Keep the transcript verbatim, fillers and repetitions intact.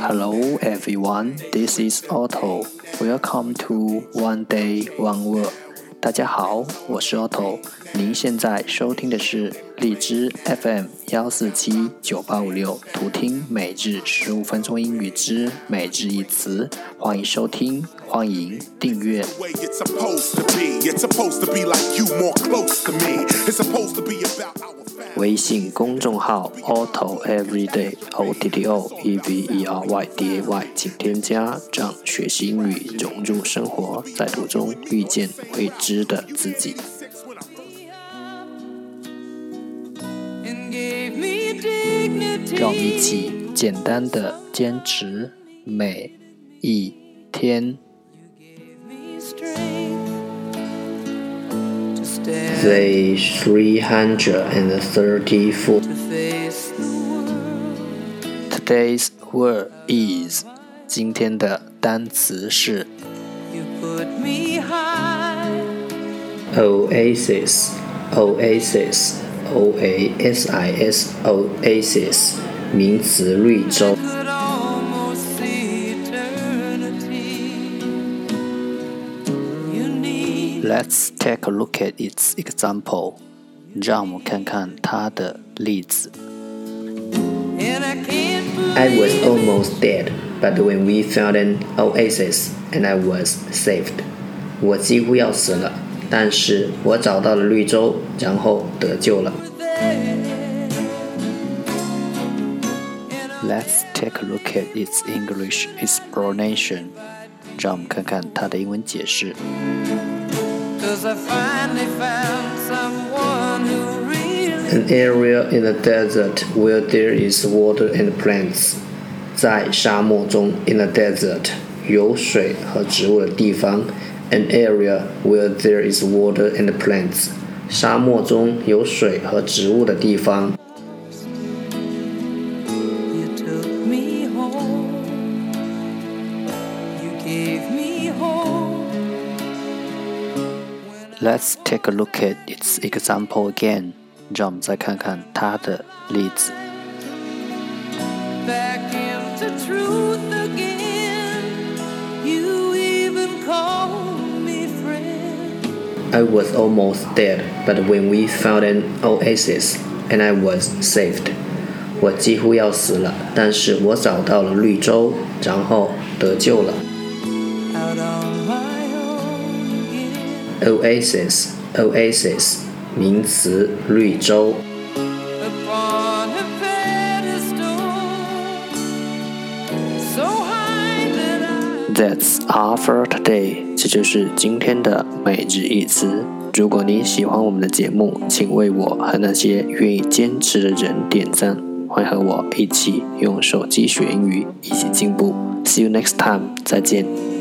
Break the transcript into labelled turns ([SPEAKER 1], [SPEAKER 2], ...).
[SPEAKER 1] Hello everyone, this is Otto. Welcome to One Day One Word. 大家好，我是 Otto。您现在收听的是荔枝 F M 一四七九八五六，图听每日十五分钟英语之每日一词。欢迎收听，欢迎订阅。微信公众号 Otto Everyday O T T O E V E R Y D A Y 请添加，让学习英语融入生活，在途中遇见未知的自己。让我们一起简单的坚持每一天。
[SPEAKER 2] Day three hundred thirty-four.
[SPEAKER 1] Today's word is 今天的单词是
[SPEAKER 2] Oasis, Oasis, O A S I S, Oasis 名词绿洲。
[SPEAKER 1] Let's take a look at its example. 让我们看看它的例子。
[SPEAKER 2] I was almost dead, but when we found an oasis, and I was saved. 我几乎要死了，但是我找到了绿洲，然后得救了。
[SPEAKER 1] Let's take a look at its English explanation. 让我们看看它的英文解释。
[SPEAKER 2] An area in the desert where there is water and plants. 在沙漠中 in the desert 有水和植物的地方 An area where there is water and plants. 沙漠中有水和植物的地方。
[SPEAKER 1] Let's take a look at its example again. 让我们再看看它的例子。
[SPEAKER 2] I was almost dead, but when we found an oasis, and I was saved. 我几乎要死了，但是我找到了绿洲，然后得救了。Oasis, Oasis 名词绿洲。
[SPEAKER 1] That's all for today. 这就是今天的每日一词。如果你喜欢我们的节目，请为我和那些愿意坚持的人点赞。欢迎和我一起用手机学英语，一起进步。See you next time. 再见。